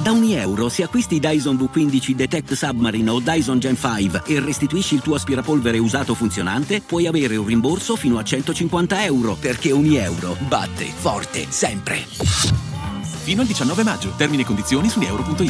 Da €1 se acquisti Dyson V15 Detect Submarine o Dyson Gen 5 e restituisci il tuo aspirapolvere usato funzionante, puoi avere un rimborso fino a €150, perché €1 batte forte sempre. Fino al 19 maggio. Termini e condizioni su euro.it.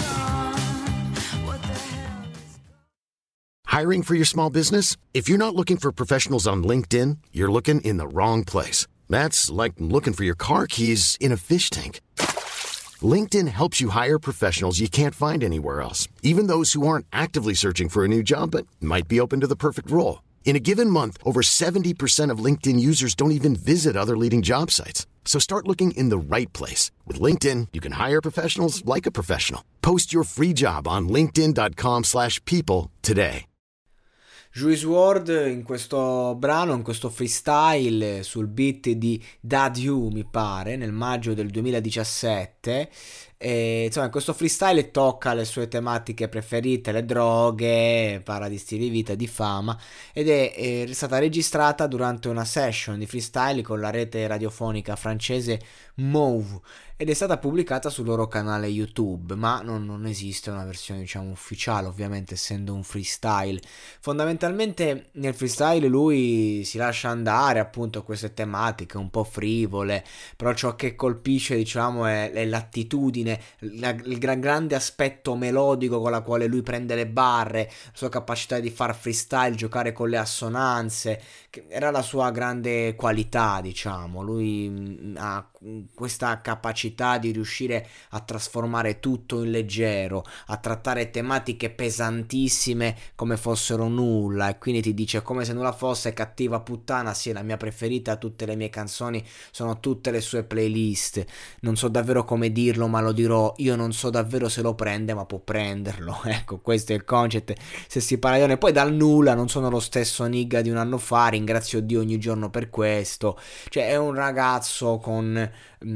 Hiring for your small business? If you're not looking for professionals on LinkedIn, you're looking in the wrong place. That's like looking for your car keys in a fish tank. LinkedIn helps you hire professionals you can't find anywhere else, even those who aren't actively searching for a new job but might be open to the perfect role. In a given month, over 70% of LinkedIn users don't even visit other leading job sites. So start looking in the right place. With LinkedIn, you can hire professionals like a professional. Post your free job on linkedin.com/people today. Juice WRLD in questo brano, in questo freestyle sul beat di Dadju, mi pare, nel maggio del 2017. E, insomma, questo freestyle tocca le sue tematiche preferite, le droghe, parla di stili di vita, di fama, ed è stata registrata durante una session di freestyle con la rete radiofonica francese Mauve ed è stata pubblicata sul loro canale YouTube, ma non esiste una versione, diciamo, ufficiale, ovviamente, essendo un freestyle. Fondamentalmente nel freestyle lui si lascia andare appunto a queste tematiche un po' frivole, però ciò che colpisce, diciamo, è l'attitudine, il grande aspetto melodico con la quale lui prende le barre, la sua capacità di far freestyle, giocare con le assonanze, che era la sua grande qualità, diciamo. Lui ha questa capacità di riuscire a trasformare tutto in leggero, a trattare tematiche pesantissime come fossero nulla, e quindi ti dice come se nulla fosse: Cattiva puttana, sì, è la mia preferita, tutte le mie canzoni sono tutte le sue playlist. Non so davvero come dirlo, ma lo dirò: io non so davvero se lo prende, ma può prenderlo. Ecco, questo è il concetto. Se si parla di donne, poi dal nulla, non sono lo stesso nigga di un anno fa, ringrazio Dio ogni giorno per questo. Cioè è un ragazzo con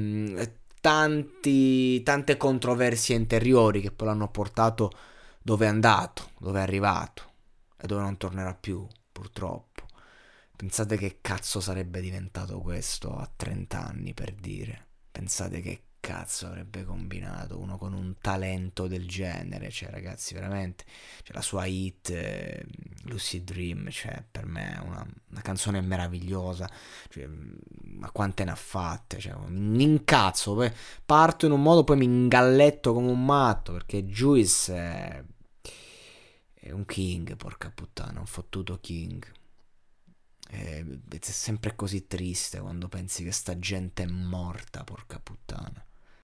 tante controversie interiori che poi l'hanno portato dove è andato, dove è arrivato e dove non tornerà più, purtroppo. Pensate che cazzo sarebbe diventato questo a 30 anni, per dire. Pensate che cazzo avrebbe combinato uno con un talento del genere. Cioè, ragazzi, veramente, cioè, la sua hit Lucid Dream, cioè, per me è una canzone meravigliosa. Cioè, ma quante ne ha fatte? Cioè, mi incazzo, poi parto in un modo, poi mi ingalletto come un matto, perché Juice è un king, porca puttana, un fottuto king. È sempre così triste quando pensi che sta gente è morta, porca puttana.